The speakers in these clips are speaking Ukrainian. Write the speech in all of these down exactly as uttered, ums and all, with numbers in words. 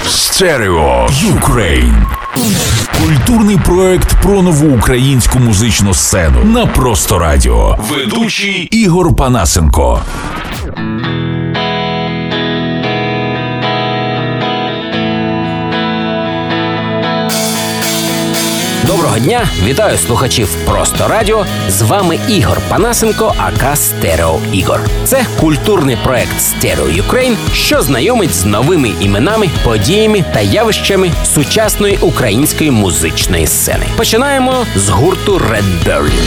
Stereo Ukraine. Культурний проект про нову українську музичну сцену на Просто Радіо. Ведучий Ігор Панасенко. Доброго дня! Вітаю слухачів Просто Радіо. З вами Ігор Панасенко, ака Стерео Ігор. Це культурний проект Stereo Ukraine, що знайомить з новими іменами, подіями та явищами сучасної української музичної сцени. Починаємо з гурту Red Berlin.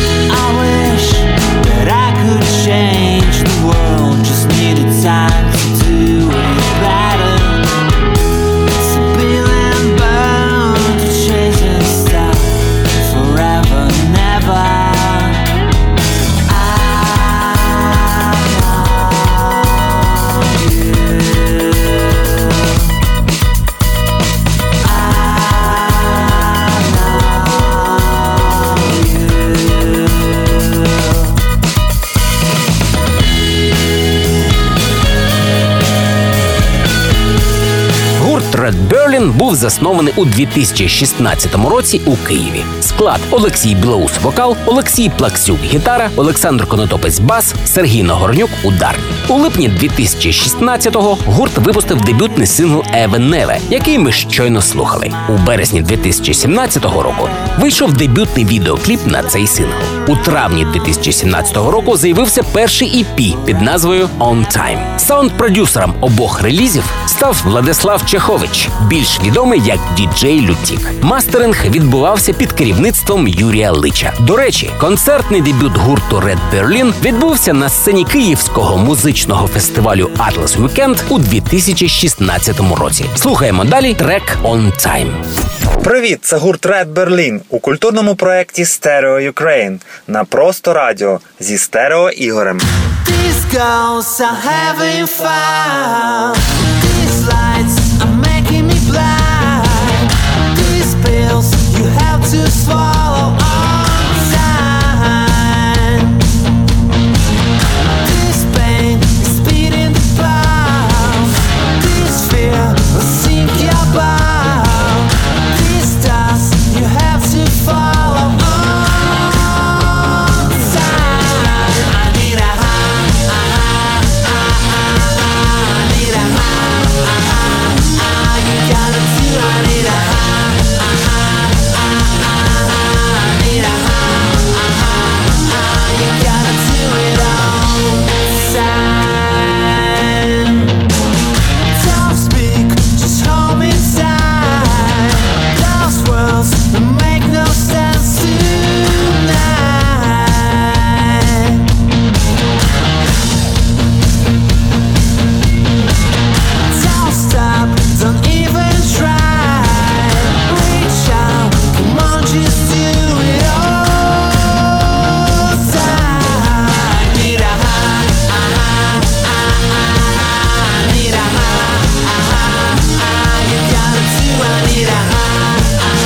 Red Berlin був заснований у дві тисячі шістнадцятому році у Києві. Склад: Олексій Білоус – вокал, Олексій Плаксюк – гітара, Олександр Конотопець – бас, Сергій Нагорнюк – ударні. У липні дві тисячі шістнадцятого гурт випустив дебютний сингл «Even Never», який ми щойно слухали. У березні дві тисячі сімнадцятого року вийшов дебютний відеокліп на цей сингл. У травні дві тисячі сімнадцятого року з'явився перший і пі під назвою «On Time». Саунд-продюсером обох релізів став Владислав Чехович, більш відомий як діджей Лютік. Мастеринг відбувався під керівництвом Юрія Лича. До речі, концертний дебют гурту Red Berlin відбувся на сцені Київського музичного фестивалю Atlas Weekend у дві тисячі шістнадцятому році. Слухаємо далі трек «On Time». Привіт, це гурт Red Berlin у культурному проєкті Stereo Ukraine на Просто Радіо зі Стерео Ігорем. These girls are having fun. These lights are making me blind. These pills you have to swallow on time. This pain is speeding the blood. This fear will sink your bones. These stars you have to follow on time. I need a high, I need a high, you gotta do. I need a high, I need a high, you gotta do it all time. Don't speak, just hold me tight. Those words make no sense tonight. Don't stop, don't even try. Reach out, come on, just do it all time. I need a high, I need a high, you gotta do. I need a high, I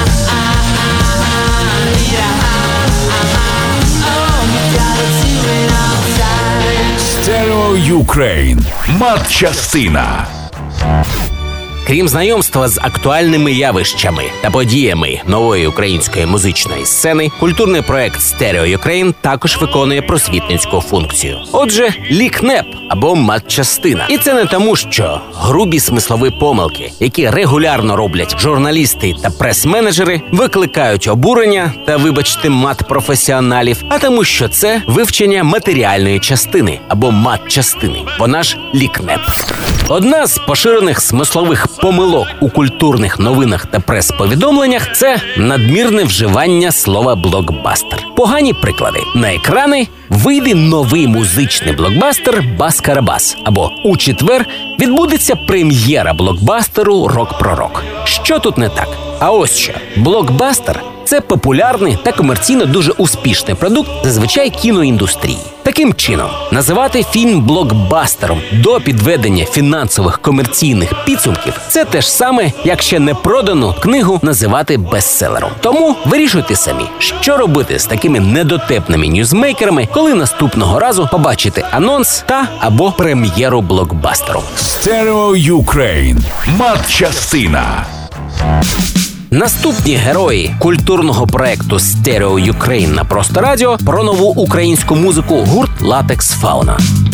need a high, oh, you gotta do it all time. Stereo Ukraine. Матчастина. Крім знайомства з актуальними явищами та подіями нової української музичної сцени, культурний проект Stereo Ukraine також виконує просвітницьку функцію. Отже, лікнеп або матчастина. І це не тому, що грубі смислові помилки, які регулярно роблять журналісти та прес-менеджери, викликають обурення та, вибачте, мат-професіоналів, а тому, що це вивчення матеріальної частини або матчастини. Вона ж лікнеп. Одна з поширених смислових помилок у культурних новинах та прес-повідомленнях – це надмірне вживання слова «блокбастер». Погані приклади. На екрани вийде новий музичний блокбастер «Бас-Карабас» або у четвер відбудеться прем'єра блокбастеру «Рок-пророк». Що тут не так? А ось що. Блокбастер – це популярний та комерційно дуже успішний продукт зазвичай кіноіндустрії. Таким чином, називати фільм блокбастером до підведення фінансових комерційних підсумків – це те ж саме, як ще не продану книгу називати бестселером. Тому вирішуйте самі, що робити з такими недотепними ньюзмейкерами, коли наступного разу побачите анонс та або прем'єру блокбастеру. Stereo Ukraine. Матчастина. Наступні герої культурного проекту Stereo Ukraine на Просто Радіо про нову українську музику гурт Latex Fauna.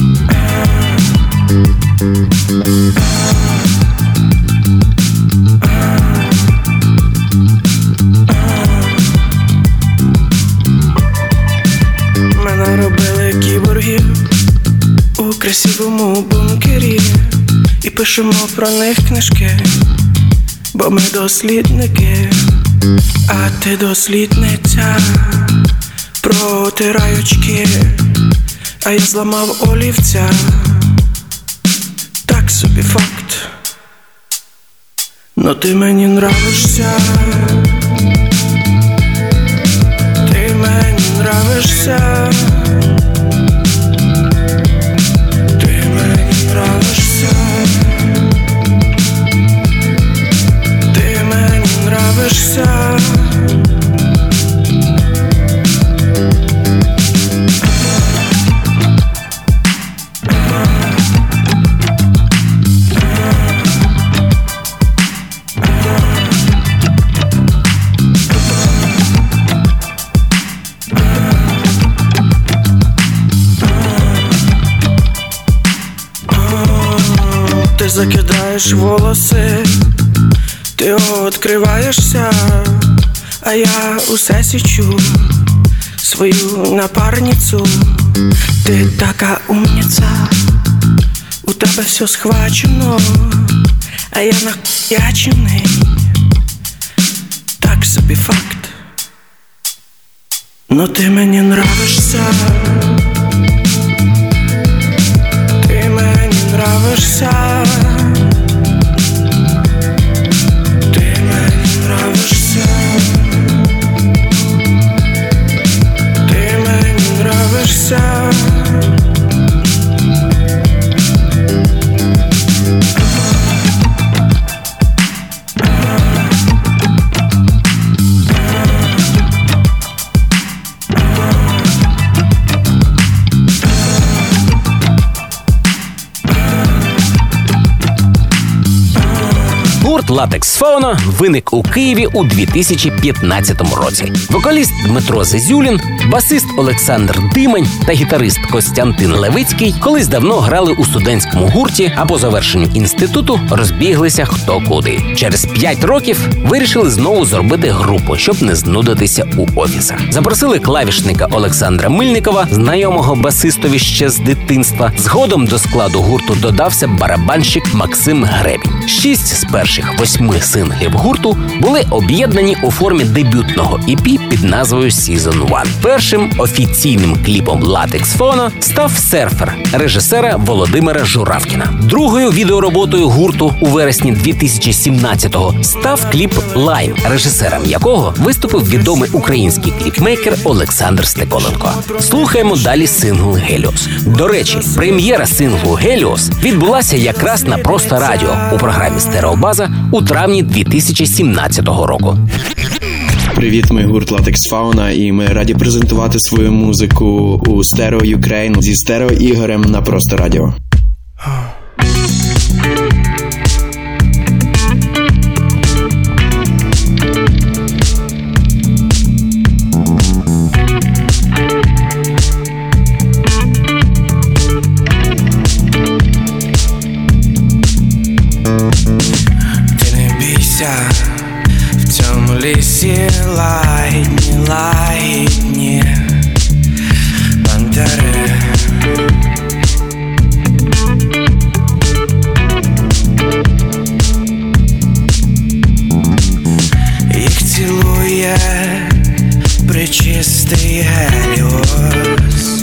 Мене робили кіборгів у красивому бункері, і пишемо про них книжки, бо ми дослідники, а ти дослідниця. Протирай очки, а я зламав олівця. Так собі факт, но ти мені нравишся. Ти мені нравишся. Ти мені нравишся. Ти мені нравишся. Ти закидаєш волоси, ти відкриваєшся, а я усе січу свою напарницю. Ти така умниця, у тебе все схвачено, а я нахуячений. Так собі факт, но ти мені нравишся. Ти мені нравишся. Ти мені нравишся. Ти мені нравишся. Гурт Latex Fauna виник у Києві у дві тисячі п'ятнадцятому році. Вокаліст Дмитро Зезюлін, басист Олександр Димань та гітарист Костянтин Левицький колись давно грали у студентському гурті, а по завершенню інституту розбіглися хто куди. Через п'ять років вирішили знову зробити групу, щоб не знудитися у офісах. Запросили клавішника Олександра Мильникова, знайомого басистові ще з дитинства. Згодом до складу гурту додався барабанщик Максим Гребінь. Шість з перших восьми синглів гурту були об'єднані у формі дебютного і пі під назвою «Season один». Першим офіційним кліпом Latex Fauna став «Серфер» режисера Володимира Журавкіна. Другою відеороботою гурту у вересні дві тисячі сімнадцятого став кліп «Лайм», режисером якого виступив відомий український кліпмейкер Олександр Стеколенко. Слухаємо далі сингл «Геліос». До речі, прем'єра синглу «Геліос» відбулася якраз на Просто Радіо у програмі «Стереобаза» у травні дві тисячі сімнадцятого року. Привіт, ми гурт Latex Fauna, і ми раді презентувати свою музику у Stereo Ukraine зі Стерео Ігорем на Просто Радіо. В цьому лісі лагідні, лагідні бандери. Їх цілує пречистий Геліос.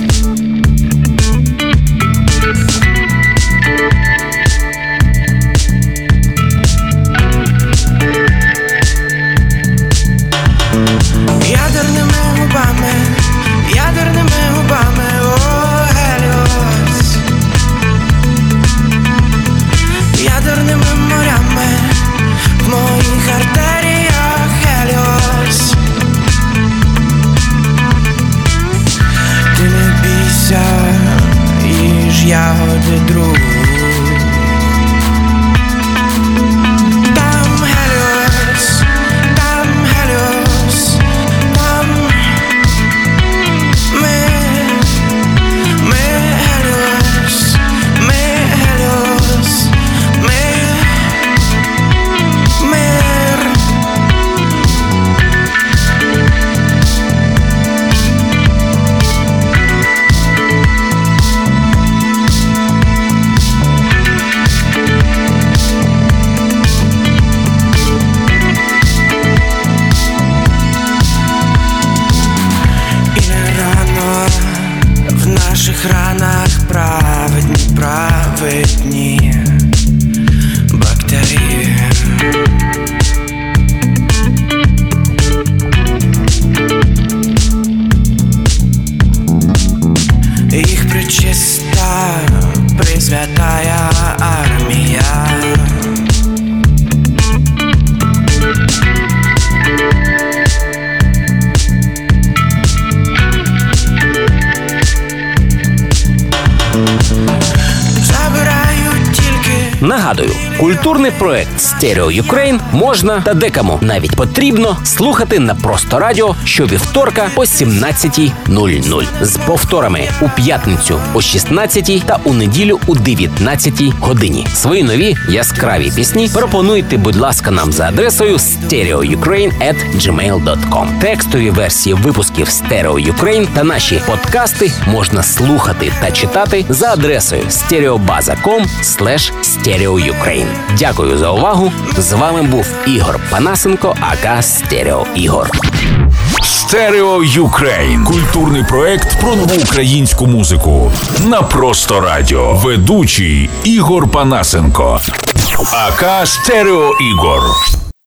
Нагадую, культурний проект Stereo Ukraine можна та декому навіть потрібно слухати на Просто Радіо щовівторка о сімнадцятій нуль нуль з повторами у п'ятницю о шістнадцятій та у неділю у дев'ятнадцятій годині. Свої нові яскраві пісні пропонуйте, будь ласка, нам за адресою stereoukraine at gmail dot com. Текстові версії випусків Stereo Ukraine та наші подкасти можна слухати та читати за адресою stereobaza.com slash stereoukraine. Дякую за увагу. З вами був Ігор Панасенко, ака Стерео Ігор. Stereo Ukraine. Культурний проект про нову українську музику. На Просто Радіо. Ведучий Ігор Панасенко. ака Стерео Ігор.